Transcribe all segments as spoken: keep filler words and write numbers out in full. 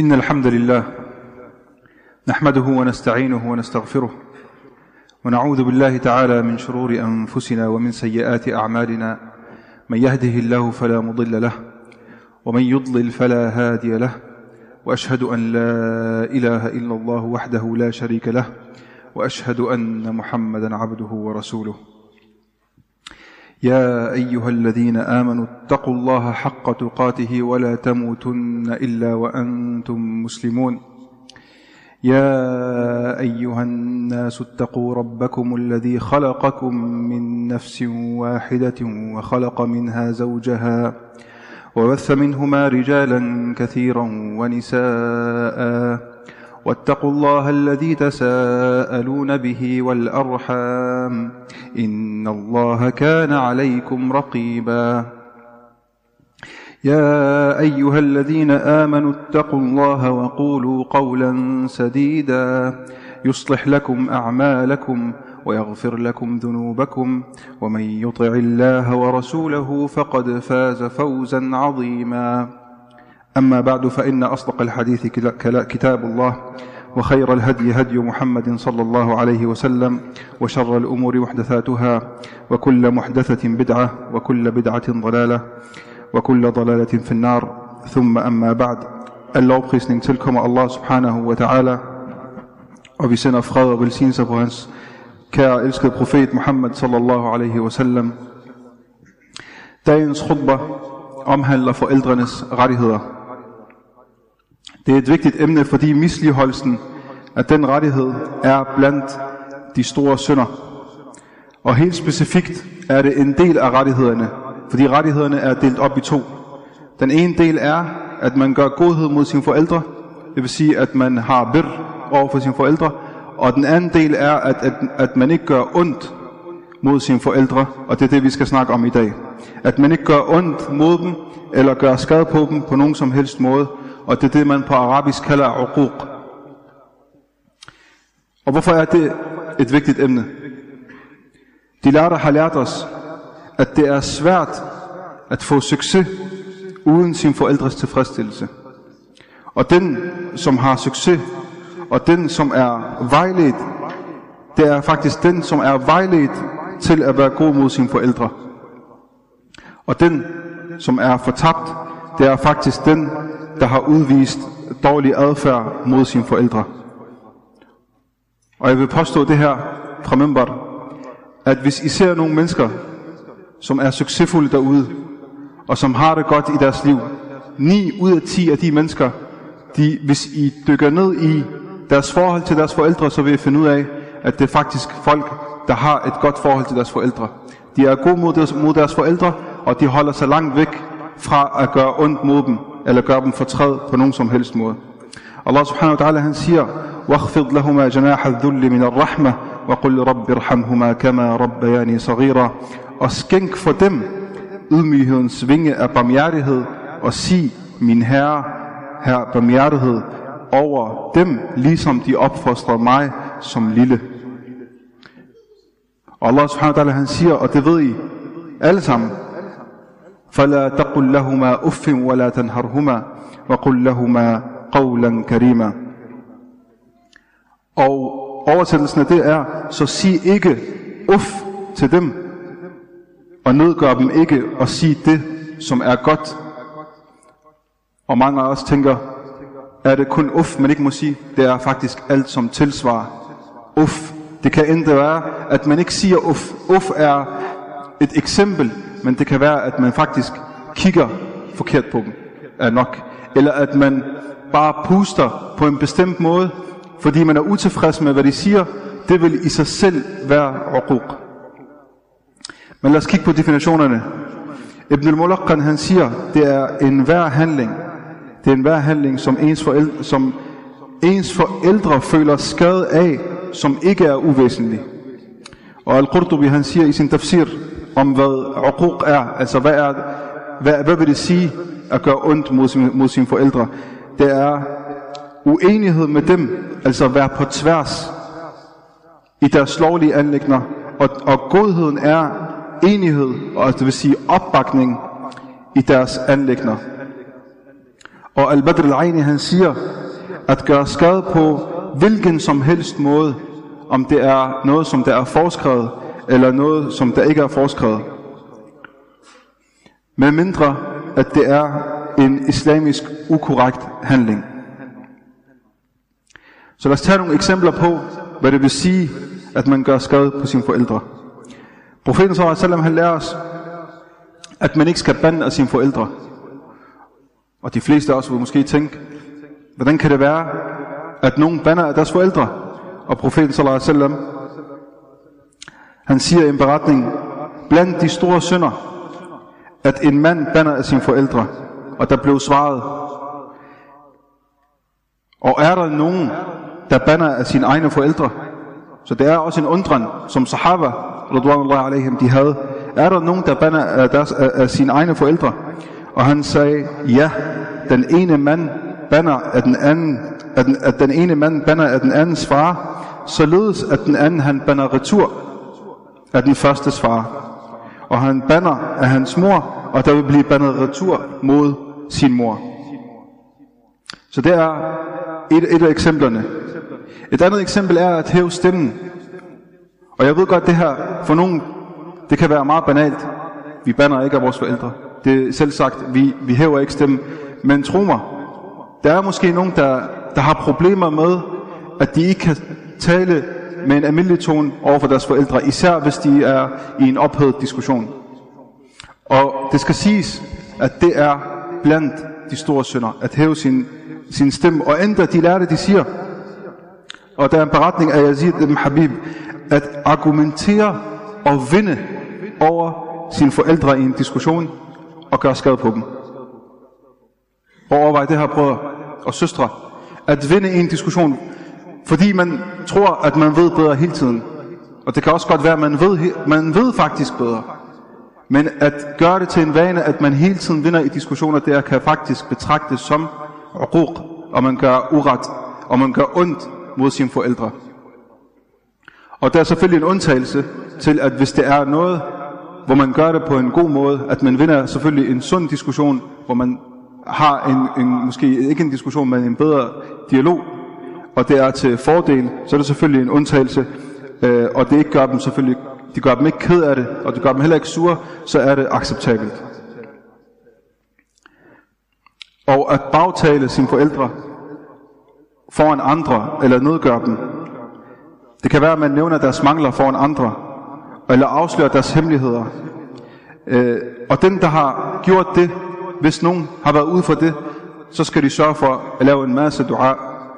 إن الحمد لله نحمده ونستعينه ونستغفره ونعوذ بالله تعالى من شرور أنفسنا ومن سيئات أعمالنا. من يهده الله فلا مضل له ومن يضلل فلا هادي له، وأشهد أن لا إله إلا الله وحده لا شريك له، وأشهد أن محمدا عبده ورسوله. يا أيها الذين آمنوا اتقوا الله حق تقاته ولا تموتن إلا وأنتم مسلمون. يا أيها الناس اتقوا ربكم الذي خلقكم من نفس واحدة وخلق منها زوجها وبث منهما رجالا كثيرا ونساء، واتقوا الله الذي تساءلون به والأرحام إن الله كان عليكم رقيبا. يا أيها الذين آمنوا اتقوا الله وقولوا قولا سديدا يصلح لكم أعمالكم ويغفر لكم ذنوبكم، ومن يطع الله ورسوله فقد فاز فوزا عظيما. أما بعد، فإن أصدق الحديث كتاب الله، وخير الهدي هدي محمد صلى الله عليه وسلم، وشر الأمور محدثاتها، وكل محدثة بدعة، وكل بدعة ضلالة، وكل ضلالة في النار. ثم أما بعد. Al lovprisning tilkommer Allah subhanahu wa ta'ala, og vi sender fred og velsignelse på hans kære elskede profet Muhammad sallallahu alaihi wasallam. Dagens khutbah omhandler forældrenes rettigheder. Det er et vigtigt emne, fordi misligholdelsen af den rettighed er blandt de store synder. Og helt specifikt er det en del af rettighederne, fordi rettighederne er delt op i to. Den ene del er, at man gør godhed mod sine forældre, det vil sige, at man har bir over for sine forældre. Og den anden del er, at, at, at man ikke gør ondt mod sine forældre, og det er det, vi skal snakke om i dag. At man ikke gør ondt mod dem, eller gør skade på dem på nogen som helst måde, og det er det, man på arabisk kalder uquq. Og hvorfor er det et vigtigt emne? De lærte har lært os, at det er svært at få succes uden sin forældres tilfredsstillelse. Og den, som har succes, og den, som er vejledt, det er faktisk den, som er vejledt til at være god mod sine forældre. Og den, som er fortabt, det er faktisk den, der har udvist dårlig adfærd mod sine forældre. Og jeg vil påstå det her fra Mimbar, at hvis I ser nogle mennesker, som er succesfulde derude, og som har det godt i deres liv, ni ud af ti af de mennesker, de, hvis I dykker ned i deres forhold til deres forældre, så vil I finde ud af, at det er faktisk folk, der har et godt forhold til deres forældre. De er gode mod deres, mod deres forældre, og de holder sig langt væk fra at gøre ondt mod dem, eller gøre dem fortræd på nogen som helst måde. Allah subhanahu wa ta'ala, han siger, وَاخْفِضْ لَهُمَا جَنَاحَ الذُّلِّ مِنَ الرَّحْمَةِ وَقُلْ رَبِّ ارْحَمْهُمَا كَمَا رَبَّيَانِي صَغِيرًا. Og skænk for dem ydmyghedens vinge af barmhjertighed, og sig, min herre, herre barmhjertighed over dem, ligesom de opfostrede mig som lille. Og Allah subhanahu wa ta'ala, han siger, og det ved I alle sammen, فَلَا تَقُلْ لَهُمَا أُفٍّ وَلَا تَنْهَرْهُمَا وَقُلْ لَهُمَا قَوْلًا كَرِيمًا. Og oversættelsen af det er, så sig ikke uff til dem, og nedgør dem ikke, og sig det, som er godt. Og mange af os tænker, er det kun uff, man ikke må sige? Det er faktisk alt, som tilsvarer uff. Det kan endda være, at man ikke siger uff. Uff er et eksempel, men det kan være, at man faktisk kigger forkert på dem, er nok. Eller at man bare puster på en bestemt måde, fordi man er utilfreds med, hvad de siger. Det vil i sig selv være uquq. Men lad os kigge på definitionerne. Ibn al-Mulaqqan, han siger, det er en hver handling. Det er en hver handling, som ens, forældre, som ens forældre føler skade af, som ikke er uvæsentlig. Og Al-Qurtubi, han siger i sin tafsir om hvad uquq er, altså hvad, er, hvad, hvad vil det sige at gøre ondt mod, sin, mod sine forældre? Det er uenighed med dem, altså være på tværs i deres lovlige anliggender, og, og godheden er enighed, og det vil sige opbakning i deres anliggender. Og Al-Badr al-Aini, han siger, at gøre skade på hvilken som helst måde, om det er noget, som der er foreskrevet, eller noget, som der ikke er foreskrevet. Med mindre, at det er en islamisk ukorrekt handling. Så lad os tage nogle eksempler på, hvad det vil sige, at man gør skade på sine forældre. Profeten sallallahu alaihi wasallam, han lærer os, at man ikke skal bande af sine forældre. Og de fleste af os vil måske tænke, hvordan kan det være, at nogen bander af deres forældre? Og profeten sallallahu alaihi wasallam, han siger i en beretning, blandt de store synder, at en mand bander af sine forældre. Og der blev svaret, og er der nogen, der bander af sine egne forældre? Så det er også en undren, som sahaba, radwanullahi alaihim, de havde. Er der nogen, der bander af, deres, af, af sine egne forældre? Og han sagde, ja, den ene mand bander af den anden, at den, at den ene mand bander af den andens far, således at den anden, han bander retur af den førstes far. Og han bander af hans mor, og der vil blive bandet retur mod sin mor. Så det er et, et af eksemplerne. Et andet eksempel er at hæve stemmen. Og jeg ved godt, det her for nogen, det kan være meget banalt. Vi bander ikke af vores forældre. Det er selv sagt, vi, vi hæver ikke stemmen. Men tro mig, der er måske nogen, der, der har problemer med, at de ikke kan tale med en almindelig tone over for deres forældre, især hvis de er i en ophedet diskussion. Og det skal siges, at det er blandt de store synder, at hæve sin, sin stemme. Og endda de lærte, de siger, og der er en beretning af Yazid ibn Habib, at argumentere og vinde over sine forældre i en diskussion, og gøre skade på dem. Og overvej det her, brødre og søstre, at vinde i en diskussion, fordi man tror, at man ved bedre hele tiden. Og det kan også godt være, at man ved, man ved faktisk bedre. Men at gøre det til en vane, at man hele tiden vinder i diskussioner, det kan faktisk betragtes som uquq, og man gør uret, og man gør ondt mod sine forældre. Og der er selvfølgelig en undtagelse til, at hvis det er noget, hvor man gør det på en god måde, at man vinder selvfølgelig en sund diskussion, hvor man har en, en måske ikke en diskussion, men en bedre dialog, og det er til fordel, så er det selvfølgelig en undtagelse, øh, og det ikke gør dem selvfølgelig, de gør dem ikke ked af det, og det gør dem heller ikke sure, så er det acceptabelt. Og at bagtale sine forældre foran andre, eller nedgøre dem, det kan være, at man nævner deres mangler foran andre, eller afslører deres hemmeligheder. Øh, og den, der har gjort det, hvis nogen har været ude for det, så skal de sørge for at lave en masse dua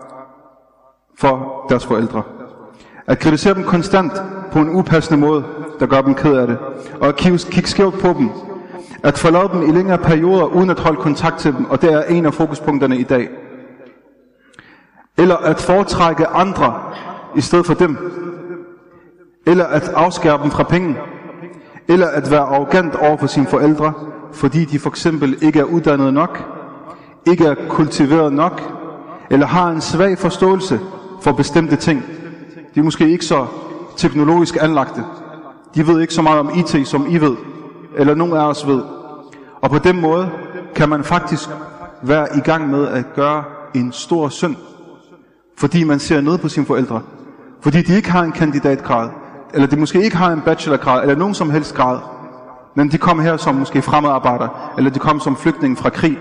for deres forældre. At kritisere dem konstant på en upassende måde, der gør dem ked af det. Og at kigge skævt på dem. At forlade dem i længere perioder, uden at holde kontakt til dem, og det er en af fokuspunkterne i dag. Eller at foretrække andre i stedet for dem. Eller at afskære dem fra penge. Eller at være arrogant over for sine forældre, fordi de for eksempel ikke er uddannet nok, ikke er kultiveret nok, eller har en svag forståelse for bestemte ting. De er måske ikke så teknologisk anlagte. De ved ikke så meget om I T, som I ved, eller nogen af os ved. Og på den måde kan man faktisk være i gang med at gøre en stor synd, fordi man ser ned på sine forældre. Fordi de ikke har en kandidatgrad, eller de måske ikke har en bachelorgrad, eller nogen som helst grad. Men de kom her som måske fremmedarbejdere, eller de kom som flygtninge fra krig.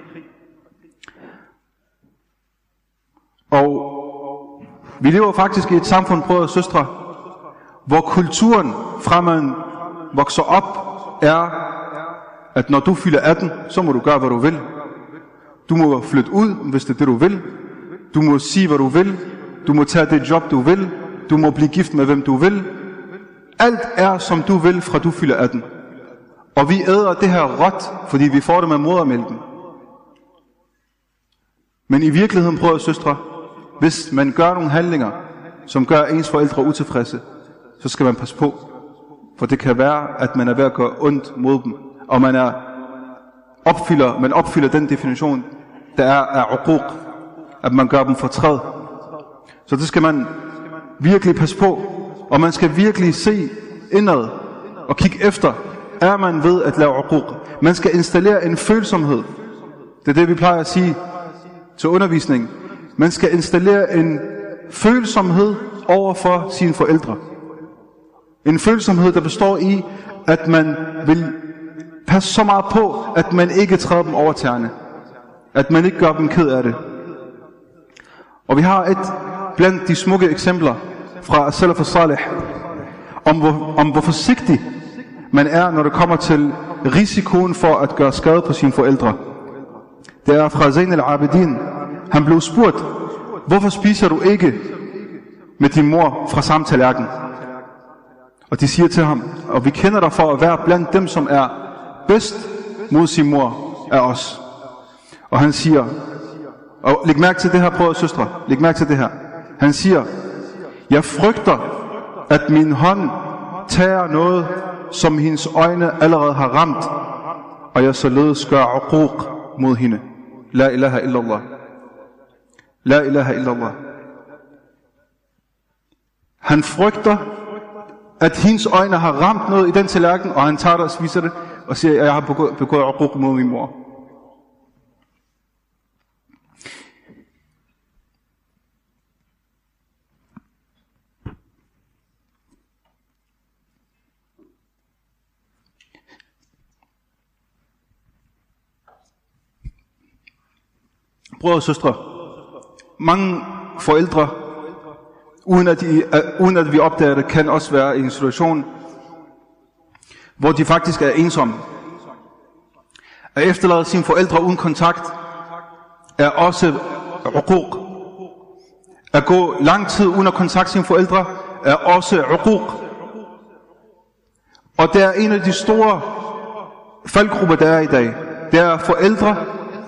Og vi lever faktisk i et samfund, brødre og søstre, hvor kulturen fra man vokser op, er, at når du fylder atten, så må du gøre, hvad du vil. Du må flytte ud, hvis det er det, du vil. Du må sige, hvad du vil. Du må tage det job, du vil. Du må blive gift med, hvem du vil. Alt er, som du vil, fra du fylder atten. Og vi æder det her råt, fordi vi får det med modermælken. Men i virkeligheden, brødre og søstre, hvis man gør nogle handlinger, som gør ens forældre utilfredse, så skal man passe på. For det kan være, at man er ved at gøre ondt mod dem. Og man er opfylder, man opfylder den definition, der er af uquq, at man gør dem fortræd. Så det skal man virkelig passe på. Og man skal virkelig se indad og kigge efter, er man ved at lave uquq. Man skal installere en følsomhed Det er det, vi plejer at sige til undervisning. Man skal installere en følsomhed over for sine forældre. En følsomhed, der består i, at man vil passe så meget på, at man ikke træder dem over tæerne. At man ikke gør dem ked af det. Og vi har et blandt de smukke eksempler fra Salaf al-Salih, om hvor, om hvor forsigtig man er, når det kommer til risikoen for at gøre skade på sine forældre. Det er fra Zayn al-Abidin. Han blev spurgt, hvorfor spiser du ikke med din mor fra samme tallerken? Og de siger til ham, og vi kender dig for at være blandt dem, som er bedst mod sin mor af os. Og han siger, og læg mærke til det her, brødre og søstre, læg mærke til det her. Han siger, jeg frygter, at min hånd tager noget, som hendes øjne allerede har ramt, og jeg således gør uquq mod hende. La ilaha illallah. La ilaha illallah. Han frygter, at hendes øjne har ramt noget i den tallerken, og han tager det og spiser det, og siger, at jeg har begået, begået uquq mod min mor. Brødre og søstre, mange forældre, uden at, de, uh, uden at vi opdager det, kan også være i en situation, hvor de faktisk er ensomme. At efterlade sine forældre uden kontakt er også uquq. At gå lang tid uden at kontakte sine forældre er også uquq. Og det er en af de store faldgrupper, der er i dag. Det er forældre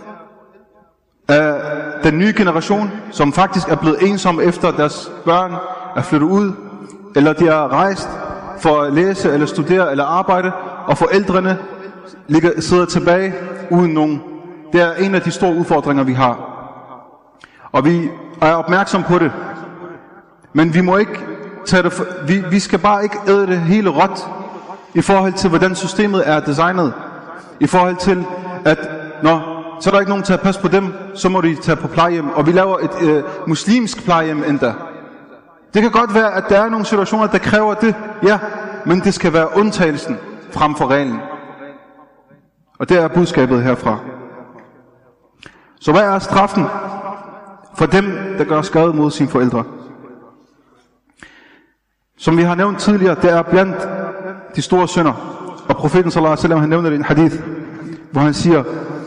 af den nye generation, som faktisk er blevet ensomme efter deres børn er flyttet ud, eller de er rejst for at læse, eller studere, eller arbejde, og forældrene ligger, sidder tilbage uden nogen. Det er en af de store udfordringer, vi har. Og vi er opmærksom på det. Men vi må ikke tage det for, vi, vi skal bare ikke æde det hele råt, i forhold til, hvordan systemet er designet. I forhold til, at når så er der ikke nogen til at passe på dem, så må de tage på plejehjem. Og vi laver et øh, muslimsk plejehjem endda. Det kan godt være, at der er nogle situationer, der kræver det, ja, men det skal være undtagelsen frem for reglen. Og det er budskabet herfra. Så hvad er straffen for dem, der gør skade mod sine forældre? Som vi har nævnt tidligere, det er blandt de store synder. Og profeten sallallahu alaihi wasallam, han nævner det i en hadith, hvor han siger,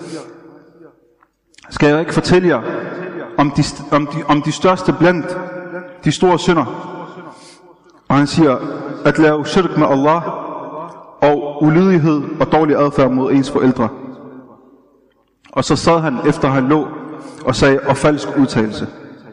skal jeg ikke fortælle jer om de, om, de, om de største blandt de store synder? Og han siger, at lave shirk med Allah, og ulydighed og dårlig adfærd mod ens forældre. Og så sad han, efter han lå, og sagde, og falsk udtalelse.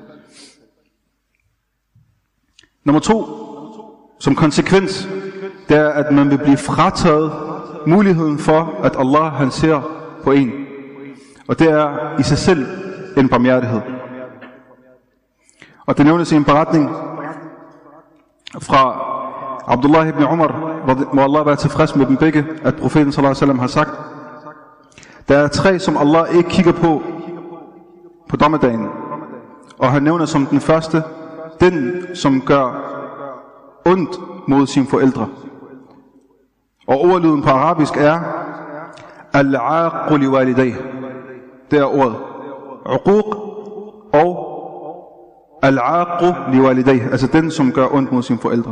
Nummer to, som konsekvens, det er, at man vil blive frataget muligheden for, at Allah han ser på en. Og det er i sig selv en barmhjertighed. Og det nævnes i en beretning fra Abdullah ibn Umar, må Allah være tilfreds med dem begge, at profeten sallallahu alaihi wasallam har sagt, der er tre, som Allah ikke kigger på på dommedagen. Og han nævner som den første, den som gør ondt mod sine forældre. Og ordlyden på arabisk er al-aaqu li walidayh. Det er ordet uquq og al-aaqu li walidayh, altså den som gør ondt mod sine forældre.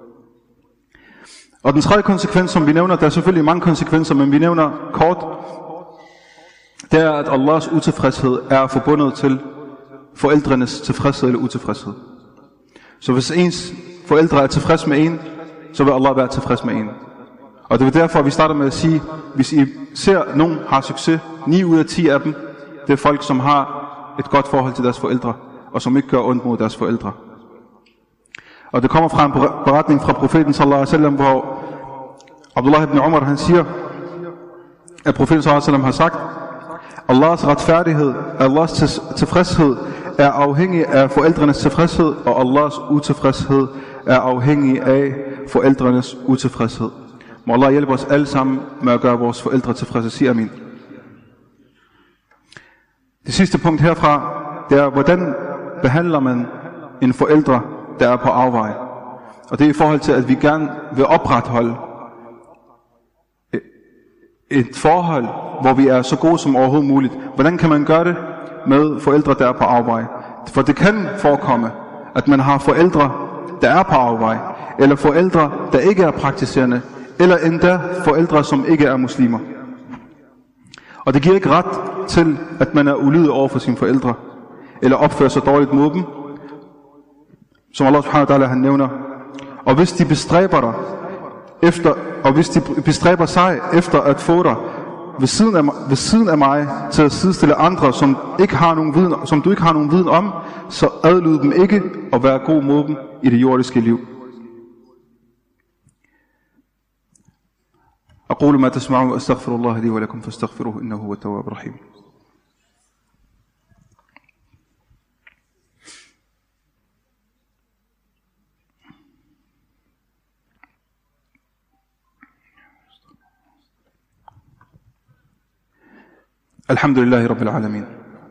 Og den tredje konsekvens, som vi nævner, der er selvfølgelig mange konsekvenser, men vi nævner kort, det er, at Allahs utilfredshed er forbundet til forældrenes tilfredshed eller utilfredshed. Så hvis ens forældre er tilfreds med en, så vil Allah være tilfreds med en. Og det er derfor, vi starter med at sige, hvis I ser, at nogen har succes, ni ud af ti af dem, det er folk, som har et godt forhold til deres forældre, og som ikke gør ondt mod deres forældre. Og det kommer fra en beretning fra profeten sallallahu alaihi wasallam, hvor Abdullah ibn Umar han siger, at profeten sallallahu alaihi wasallam har sagt, Allahs retfærdighed, Allahs tilfredshed er afhængig af forældrenes tilfredshed, og Allahs utilfredshed er afhængig af forældrenes utilfredshed. Må Allah hjælpe os alle sammen med at gøre vores forældre tilfredse. Sig amin. Det sidste punkt herfra, det er, hvordan behandler man en forældre, der er på afveje. Og det er i forhold til, at vi gerne vil opretholde et forhold, hvor vi er så gode som overhovedet muligt. Hvordan kan man gøre det med forældre, der er på afveje? For det kan forekomme, at man har forældre, der er på afveje, eller forældre, der ikke er praktiserende, eller endda forældre, som ikke er muslimer. Og det giver ikke ret til, at man er ulydig over for sine forældre, eller opfører sig dårligt mod dem, som Allah subhanahu wa ta'ala han nævner. Og hvis de bestræber dig efter, og hvis de bestræber sig efter at få dig ved siden af, ved siden af mig til at sidestille andre, som, ikke har nogen viden, som du ikke har nogen viden om, så adlyd dem ikke og vær god mod dem i det jordiske liv. أقول ما تسمعون وأستغفر الله لي ولكم فاستغفروه إنه هو التواب الرحيم. الحمد لله رب العالمين.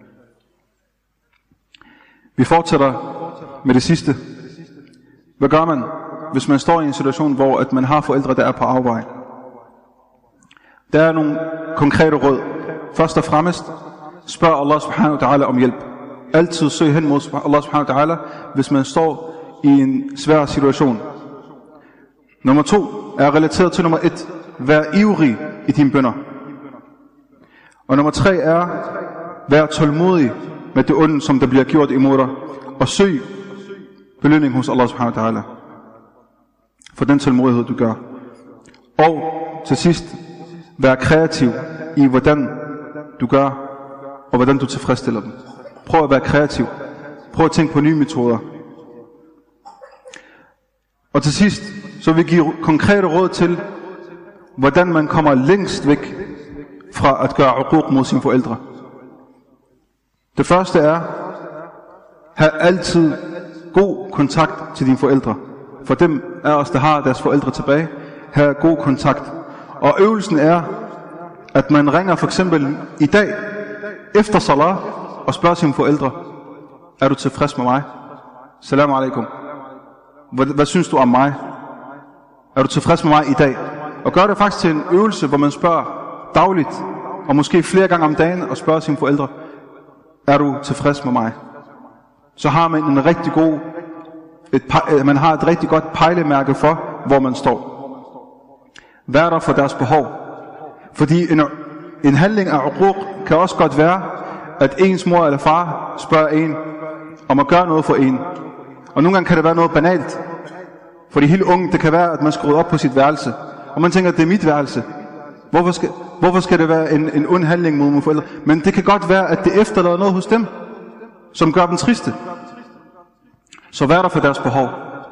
Vi fortsætter med det sidste. Hvad gør man, hvis man står i en situation, hvor at man har forældre, der er på afveje? Der er nogle konkrete råd. Først og fremmest, spørg Allah subhanahu wa ta'ala om hjælp. Altid søg hen mod Allah subhanahu wa ta'ala, hvis man står i en svær situation. Nummer to er relateret til nummer et. Vær ivrig i dine bønner. Og nummer tre er, vær tålmodig med det onde, som der bliver gjort imod dig, og søg belønning hos Allah subhanahu wa ta'ala for den tålmodighed, du gør. Og til sidst, vær kreativ i, hvordan du gør, og hvordan du tilfredsstiller dem. Prøv at være kreativ. Prøv at tænke på nye metoder. Og til sidst, så vil vi give konkrete råd til, hvordan man kommer længst væk fra at gøre uquq mod sine forældre. Det første er, have altid god kontakt til dine forældre. For dem af os, der har deres forældre tilbage, have god kontakt. Og øvelsen er, at man ringer for eksempel i dag, efter salat, og spørger sine forældre, er du tilfreds med mig? Salam alaikum. Hvad, hvad synes du om mig? Er du tilfreds med mig i dag? Og gør det faktisk til en øvelse, hvor man spørger dagligt, og måske flere gange om dagen, og spørger sine forældre, er du tilfreds med mig? Så har man en rigtig god, et, man har et rigtig godt pejlemærke for, hvor man står. Vær der for deres behov. Fordi en, en handling af uquq kan også godt være, at ens mor eller far spørger en, om at gøre noget for en. Og nogle gange kan det være noget banalt. For de helt unge, det kan være, at man skruer op på sit værelse. Og man tænker, at det er mit værelse. Hvorfor skal, hvorfor skal det være en, en ond handling mod mine forældre? Men det kan godt være, at det efterlader noget hos dem, som gør dem triste. Så vær der for deres behov.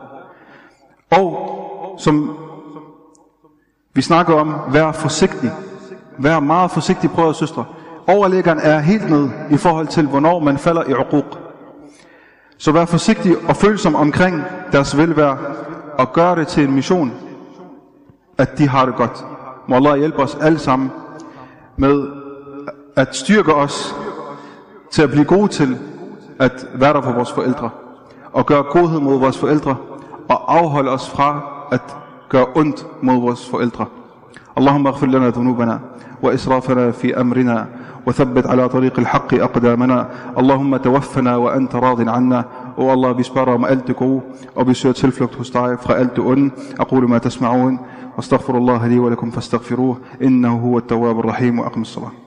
Og som vi snakker om, vær forsigtig. Vær meget forsigtig, brødre og søstre. Overlæggeren er helt ned i forhold til, hvornår man falder i uquq. Så vær forsigtig og følsom omkring deres velvære, og gør det til en mission, at de har det godt. Må Allah hjælpe os alle sammen med at styrke os til at blive gode til at være der for vores forældre, og gøre godhed mod vores forældre, og afholde os fra at gøre ondt mod vores forældre. Allahumma ighfir lana dhunubana wa israfana fi amrina وثبت على طريق الحق أقدامنا اللهم توفنا وأنت راض عنا og Allah vi spørger om alt det gode og vi søger tilflugt hos dig fra alt det onde. أقول ما تسمعون واستغفر الله لي ولكم فاستغفروه إنه هو التواب الرحيم وأقم الصلاة.